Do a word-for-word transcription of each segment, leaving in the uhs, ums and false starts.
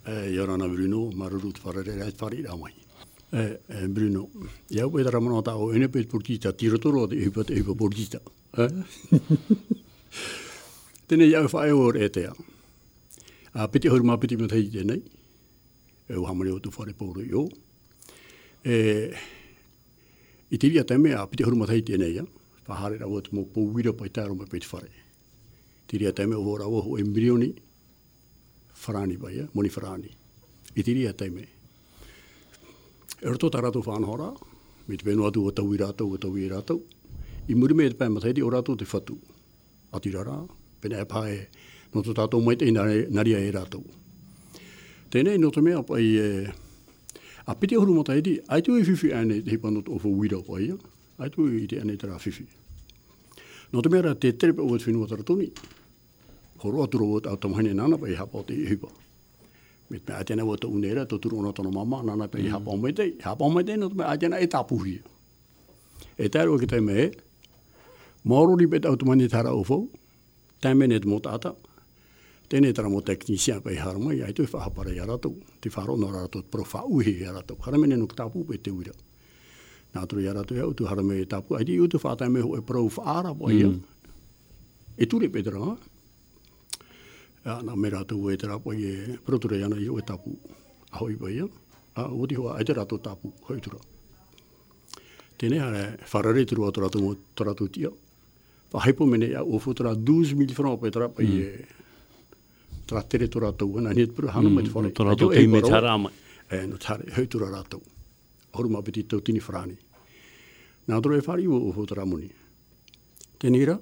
Yorana Bruno, Maruru Farere, Farid Amai. Bruno, ja, we daar maar aan in het portita, tiratoro, die heeft even portita. Dan is jouw vijf hoor eten. Ah, petit hoor maar petit met hij nee. We gaan maar uit voor de poro jo. Eh, Italia temme ah petit hoor met hij nee ja. Verhalen dat wordt mo po weer op het daarom met fare. Italia temme hoor dat we embryoni. Frani bij ja, moni frani. Italia temme. Er tot arato van hora, met Venuatu o tawirato o tawirato. I muri me pe matai di orato te fatu. Atirara, pena pae no to tato mai te naria e rato. Tene no to me apa i a piti horu matai di ai tu fifi ane te panot of wiro pa ia. Ai tu i te ane tra fifi. No to me ra te trip o finu tratoni. Horo aturo o automane nana pa i hapa te hipa. Met me atena wat te unera tot turu ono tono mama nana pe hapa o mete hapa o mete no me atena etapuhi e taro ke te me moro di bet automani tara ofo tame net motata tene tra mo technicien pe harma ya tu fa para yara to ti faro no ra to profa uhi yara to harme no tapu pe te ura na tro yara to ya tu harme tapu ai di tu fa tame ho prof ara boya e tu re pedra ja, na mera tu e tra po e proture ana i o tapu a hoi ba ia a o di ho a tra to tapu hoi tura tene ha farare tru o tra to tra to tio pa hepo mene ya o futra douze mille francs pe tra pa e tra tere tra to na net pro hanu met fore tra to e me tara e no tare hoi tura ra to horma petito tini frani na tro e fari o futra moni tenira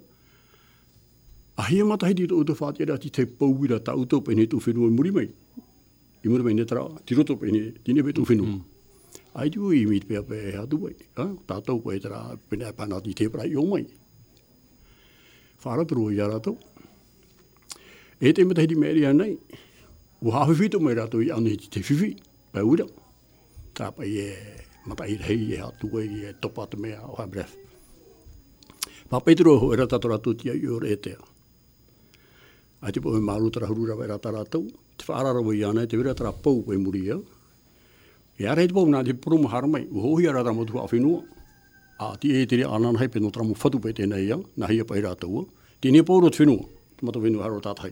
ahia mata hidi to fat ya ti te pouira ta uto pe ne tu finu muri mai i muri mai ne tra ti roto pe ne ti ne be tu finu ai tu i mit pe pe ha tu bai ha ta to pe tra pe ne pa na ti te pra yo mai fara tru ya ra to e te mata hidi meri anai u ha fi to mai ra to i anu ti te fifi pa ura ta pa ye mata i hei ha tu e to pa te me ha bref pa Pedro era ta tra tu ti yo rete a te po me maru tra hurura vera taratau te whaarara wa iana te vera tra pou pe muria e ara te pou na te prumu haramai u hohi ara tra motu a whenua a ti e te rea anana hei pe no tra mu whatu pe tēnei ia na hia pai rātou tēnei pou rot whenua te mata whenua haro tātai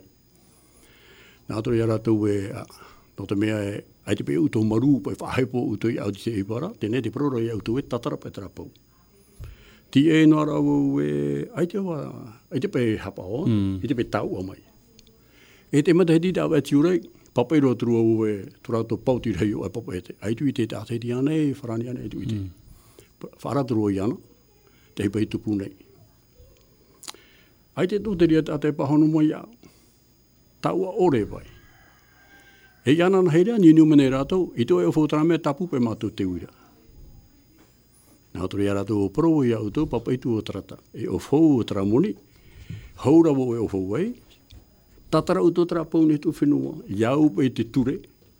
nā tō ia rātou e no te mea e ai te pe uto maru pe whahepo uto i au te te ipara tēnei te proro i auto e tatara pe tra pou ti e no ara o e ai te wa ai te pe hapa o i te pe tau o mai e te mata hedi tau e tiurei papai ro tru o e turato pauti rei o e papa e te ai tu i te tātai di ane e wharani ane e tu i te whara tru o i ana te hipa i tupu nei ai te tūteria tātai pahonu mo i au tau a ore vai e iana na heirea ni numene rātou i to e o whotara mea tapu pe mātou te uira nā turi ara tō pro i au tō papai tū o trata. E o whou o tramoni, haura wo e o whou ei, tatara o tō trapau ne tō whenua, iau pa i te ture,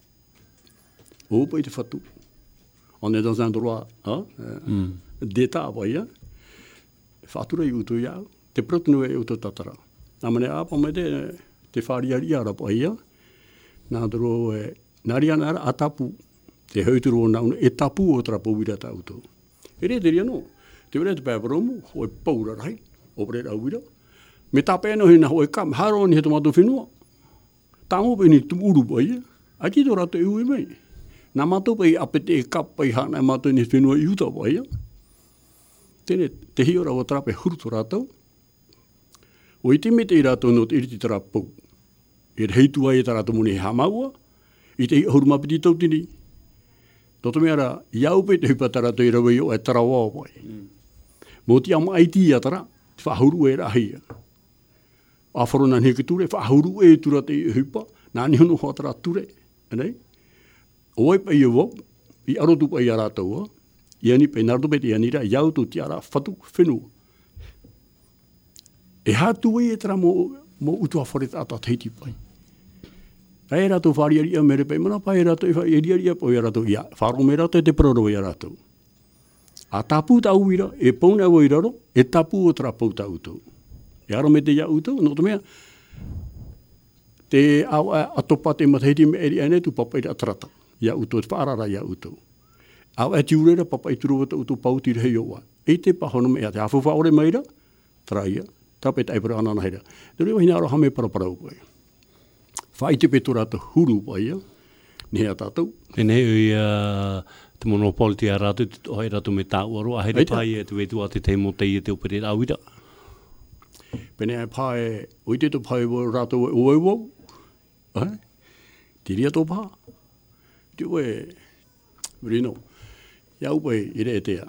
o pa i te whatu. On est dans un droit, hein, mm. d'état, voyez, whatura i u tō iau, te protinu e u tō tatara. Nā mane āpa me te, te whāriari ara pa ia, nā tō e, nāri ana ara atapu, te hauturu o nauna, e tapu o trapau ira tā u tō. E re te ria no, te wera te pēparomu, hoi paura rai, o pere rauira. Me tā pēno hina hoi kam, haro ni he tomato whenua. Tā ngope ni tu uru pa ia, a ki tō rato e ui mei. Nā mato pa i apete e kapa i hana e mato ni whenua i uta pa ia. Tene, te hiora o trape huru tō rato. O i te me te i rato no te iriti trapau. E heitua e tā rato muni he hamaua, i te hurumapiti tautini. Toto mea ra, iau pe te hupatara to i rawa i o e tarawa o pai. Mō ti ama aiti a tara, te whahuru e rahia. A wharona ni ke ture, whahuru e tura te i hupa, nā ni hono hoa tara ture. Anei? O e pai e wau, i arotu pai a rātaua, i ani pe nardo pe te anira, iau tu ti ara whatu whenua. E hatu e tara mō, mō utua wharet ata teiti pai. Ai rato whariari a mere pai mana, pai rato i whariari a poi rato ia. Wharo me rato e te proro i rato. A tapu tau ira, e pauna o iraro, e tapu o trapau tau tau. E aro me te ia utau, no to mea, te au atopa te matahiti me eri ane tu papa i atrata. Ia uto, te whaarara ia uto. Au e tiurera papa i turu wata uto pauti rei oa. E te pahono me a te hawhawha ore maira, traia, tape te aipara anana heira. Te reo hina aro hame paraparau koe. Whai te petora te huru pa ia, ni hea tātou. E nei ui uh, te monopoli a rātu, te tohai rātu me tāuaro, a heira pai e te wetua te te mo te i te upere rāwira. Pene ai pai, ui te to pai o rātou e oe wau, te ria tō pā. Te oe, rino, iau pai i re tea.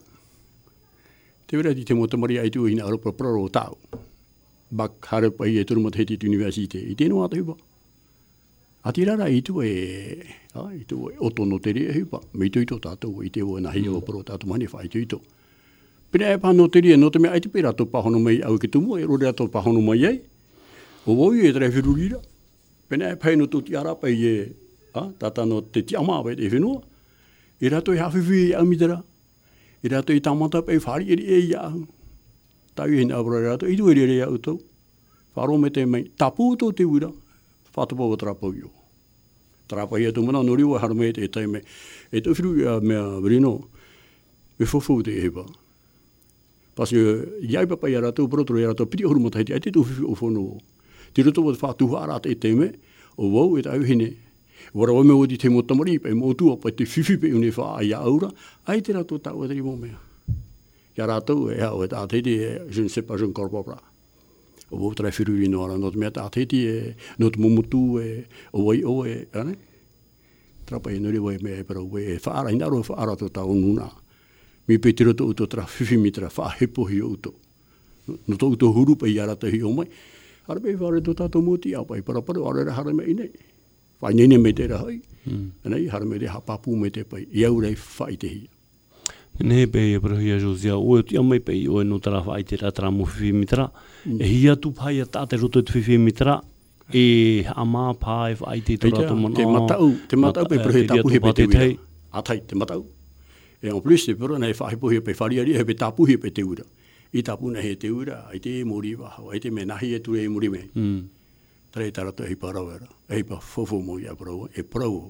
Te wera ti te mo tamari ai tu ina aropa praro o tāu. Bak hare pai e turu matahiti tu universite, i tēnu ata hipa. A ti rara i tu e, i tu e oto no te rea hipa. Me tu ito tātou, i te o nahi o pro tātou mani whai tu ito. Pina e pāno te rea, no te mea ai te pera tō pahono mai au ke tumu, e rore ato pahono mai ai. O woi e trai whirurira. Pina e pai no tō ti ara pai e, tata no te ti ama pai te whenua. I rato i hawhiwi e amitara. I rato i tamata pai whari eri e i ahu. Tau i hina abra rato, i tu eri eri au tau. Wharo me te mai, tapu tō te wira, whātapa o trapau i o. Trapau i atu mana, no riwa hara me te tai me. E tau whiru i a mea rino, e whawhau te e hepa. Pasi i ai papai a rato, protoro i rato, piti ahuru matahiti, ai te tau whiwhi o whono o. Te roto o te whātuha arata e te me, o wau e tau hine. Wara wame o di te mo tamari, pai mo tua, pai te whiwhi pe une wha ai a aura, ai te rato tau e tari mo mea. Ia rato e hao e tāteiti e je ne sais pas, je ne corps pas. O wau trai whiruri no ara, no te mea tāteiti e, no te mumutu e, o wai o e, ane? Trapa e nuri wai mea e para ue e whaara, hina aro e whaara to tau nuna. Mi pe te roto uto tra whiwhi mi tra wha hepo hi o uto. No to uto huru pa i arata hi o mai. Ara pe whaare to tātou moti au pai para para, ara hara me inei. Whai nene me te rahai. Anei, hara me te hapapu me te pai. Iau rei whai te hia. Nei pe e parahi a Josia, o e ti amai pe i o e no tara whai te rā mo whiwhi mitra. E hia tu pai a tāte roto te whiwhi mitra. E ama pai whai te torato mana. Te matau, te matau pe parahi tapuhi pe te wira. Atai, te matau. E en plus, te pera nei whahipohi pe whariari he pe tapuhi pe te wira. I tapuna he te wira, ai te mori waha, ai te me nahi e ture e mori me. Tare tarato e parau era. E pa fofo mo ia parau, e parau.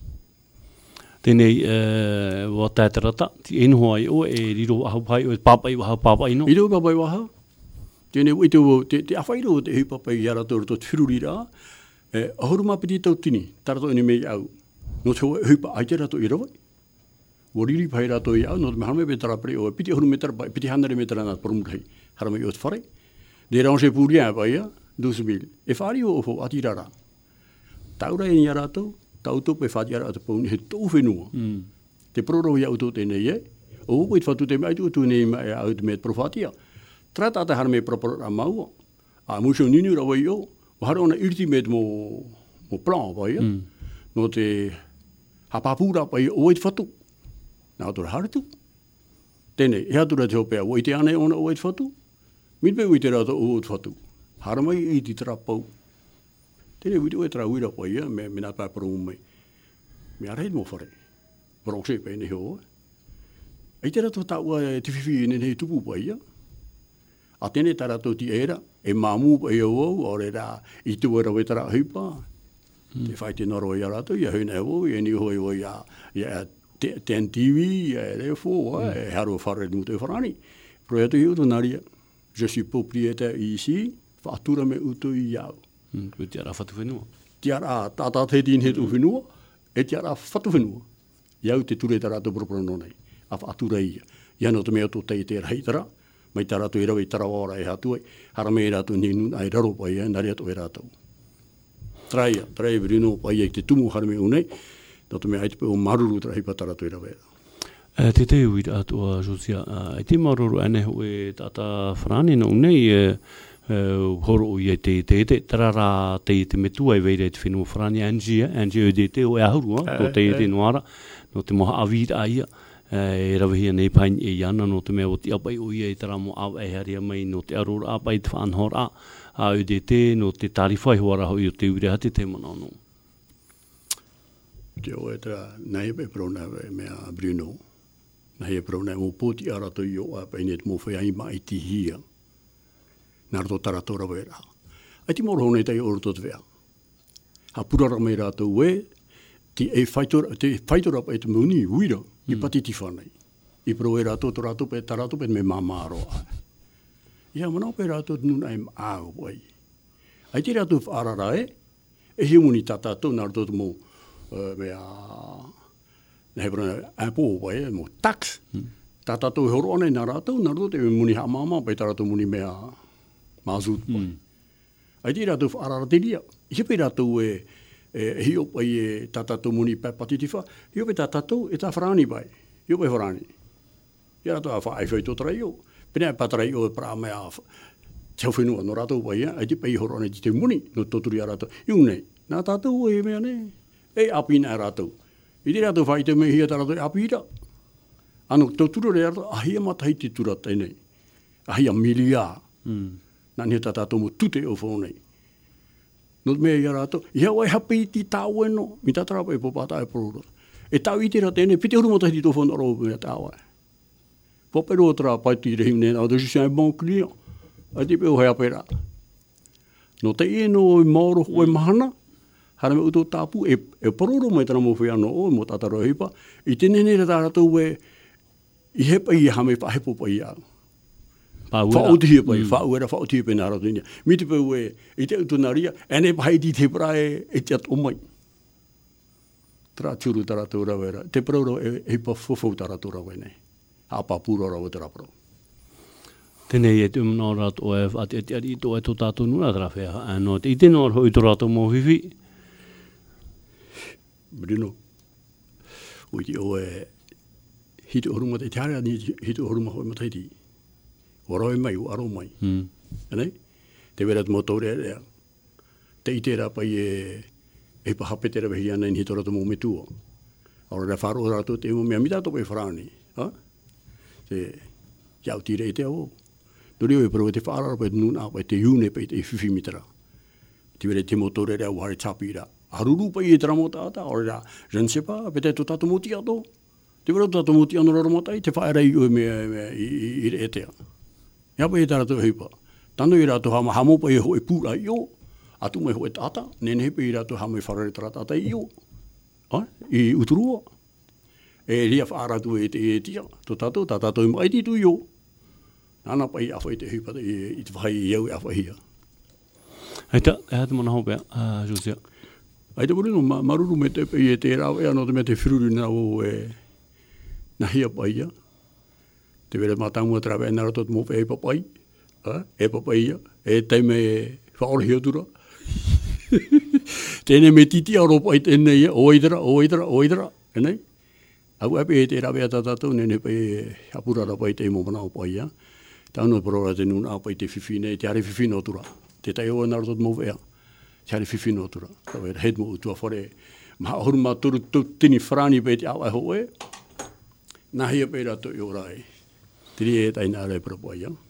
Tēnei, wa tātarata, ti enoa i o e riro ahau pai, o e papai waha papai no? I riro papai waha. Tēnei, i te, te awhairo te hui papai i arato rato te whiruri rā, e ahuru mapiti tau tini, tarato ene mei au. No te hui pa aite rato i rawai. O riri pai rato i au, no te me harame pe tarapere, o piti ahuru me tarapai, piti hanare me tarana porumurahi, harame i o te whare. De range puria pai ia, douze mille. E whari o ofo ati rara. Taura e ni arato, tauto pe whati ara atu pauni he tau whenua. Mm. Te proro i auto tēnei e, o upo i te whatu te mea tu nei mai au te mea profatia. Trata ata hara me proporo a maua. A musio nini rawa i o, o hara ona irti me mo, mo plan pa ia. Mm. No te hapapura pa ia o i te whatu. Nā tora haritu. Tēnei, e atura te hopea, o i te ane ona o i te whatu. Minpe o i te rata o i te whatu. Hara mai i te trapau. Tēnei witu e tra wira pa ia, me me nā pāparo umai. Me arei mo whare. Bronxe pa ene heo. Ai te rato tāua e te whiwhi ene hei tupu pa ia. A tēnei tā rato ti era, e māmu pa ia o, o re rā, i tu era wetara hipa. Mm. Te whai te noro i a rato, ia huna o, ia ni hoi o ia, ia ten T V, ia refo, mm. e haro whare ni mutu e wharani. Pro ia tu hiu tu naria. Je suis propriétaire ici, whaatura me utu i iau. Mm, te ara whatu whenua. Te ara tātā te tini he tu whenua, e te ara whatu whenua. Iau te ture tara tu proprono nei, a whaatura ia. Ia no te mea tō tei te raitara, mai tā rātou e rawe tara wāra e hatuai, hara me e rātou ni nuna ai raro pai e, nari ato e rātou. Traia, traia virino pai e te tumu hara me unei, no te mea aite pe o maruru tara hipa tā rātou e rawe. Uh, te te ui atua, Josia, uh, e te maruru ane ho e tata whanani no unei, uh, Uh, horo o i te te te tarara te te metua i veire te whenua wharani Angie, Angie o te te o e ahurua, no te te noara, no te moha awira aia, e rawihia nei pain e iana, no te mea o te apai o i e tara mo au e haria mai, no te arora apai te whanhora, a o te te, no te tarifai hoara hoi o te ure hati te manano. Te o e tara, nei e prona mea Bruno, nei e prona mo poti arato i o a paine te mo whai aima i ti hia. Nā rato taratora wera. Ai ti moro honei tei oro tot vea. ha purara mai rātou e, ti e whaitora, te whaitora pa e te muni, uira, mm. i patiti whanai. I pro e rātou, to rātou pe, ta rātou pe me mamaro ai. Ia manao pe rātou nuna e āo wai. Ai te rātou whaarara e, e hi muni tā tātou nā rātou mō, uh, mea, na hebra Apple wai, mō tax. Mm. Tā tātou horo anei nā rātou, nā rātou te muni ha māma, pe tā rātou muni mea mazut wai. Mm. Ai te rātou whaarara te ria. I pe rātou e, e hi opai e tā tātou muni pe patitiwha, hi opai tā tātou e tā wharani bai. Hi opai wharani. Ia rātou a whaai whai tō tarai o. Pena e patarai o e pra mea te whenua no rātou bai, ai te pei horo anei te muni no tōturi a rātou. Iung nei, nā tātou e mea nei. E apina e rātou. I te rātou whai te mea hia tā rātou e apira. Ano tōturu re rātou, ahia matahi te tura tēnei. Ahia milia. Mm. Nā ni tā tātou mo tute o whonei. No mea ia rātou, ia wai hapi ti tāu e no, mi tā tarapa e popata e porora. E tāu i te rā tēnei, pite huru matahi ti tō whonei aro mea tāu e. Popero tra pai ti rehi ne na de je suis un bon client. A ti pe o hea pera. No te e no i maoro o e mahana. Hara me uto tapu e e pororo mai tana mo fia no o mo tataro hipa. I te nene re tara tu e i he pai ha me pa he po pai a. Pa uera. Fa o ti pai, fa uera fa o ti pe na ra tinia. Mi te pe e i te uto naria ene pai ti te pra e e te o mai. Tra turu tara tu ra vera. Te pororo e e pa fofo tara tu ra nei. Apa pura ra o te rapro. Tēnei e te umnā rātou e whaati ati ari tō e tō tātou nuna trawhea anō te i tēnā hoi tō rātou mō whiwhi. Bruno, ui te o e hito horuma te tearea ni hito horuma hoi mataiti. Waroi mai, o aro mai. Mm. Anei? Te wera te motore rea. Te i tērā pai e e pa hape tērā wehi ana ni hito rātou mō me tua. Aura rea wharo rātou te mo mea mita tō pai wharani. Ha? Te iau tire e te au. Nori o e pero te whaarara pa e nuna pa e te iune pa e te whiwhi mitara. Te were te motore rea uhare tapi rea. Haruru pa i e tera mo tāta, ore rea, je ne sais pas, pe te to tato moti ato. Te were to tato moti ano rara matai, te whaera i ue mea i re e tea. Ia pa e tara to heipa. Tano i rato hama hamo pa e ho e pūra i o. Atu mai ho e tata, nene hepe i rato hama i wharare tara tata i o. I uturua. E ria whaaratu e te e tia, to tato, ta tato i mai titu i o. Nana pai awha i te hipa i te whai i au e awha hia. Heita, e hata mana hopea, Josia. Ai te moreno, maruru me te pe i e te rau e anō te me te whiruru na o e na hia pai ia. Te wera mātangu a trawe e nara tot mope e papai, e papai ia, e teime e whaore hia tura. Tēne me titi aro pai tēnei ia, oidara, oidara, oidara, e nei. Au ape e te rawe a tātou, nene pe apurara pai te mo manao pai ia. Tāunu porora te nuna pai te whiwhine, te are whiwhine o tura. Te tai o nara tot mou ea, te are whiwhine o tura. Tawe hed mo utua whare, maha horu mā turu tini wharani pe te au e ho e, nahia pe rato i o rai. Tiri e tai nā rai para pai ia.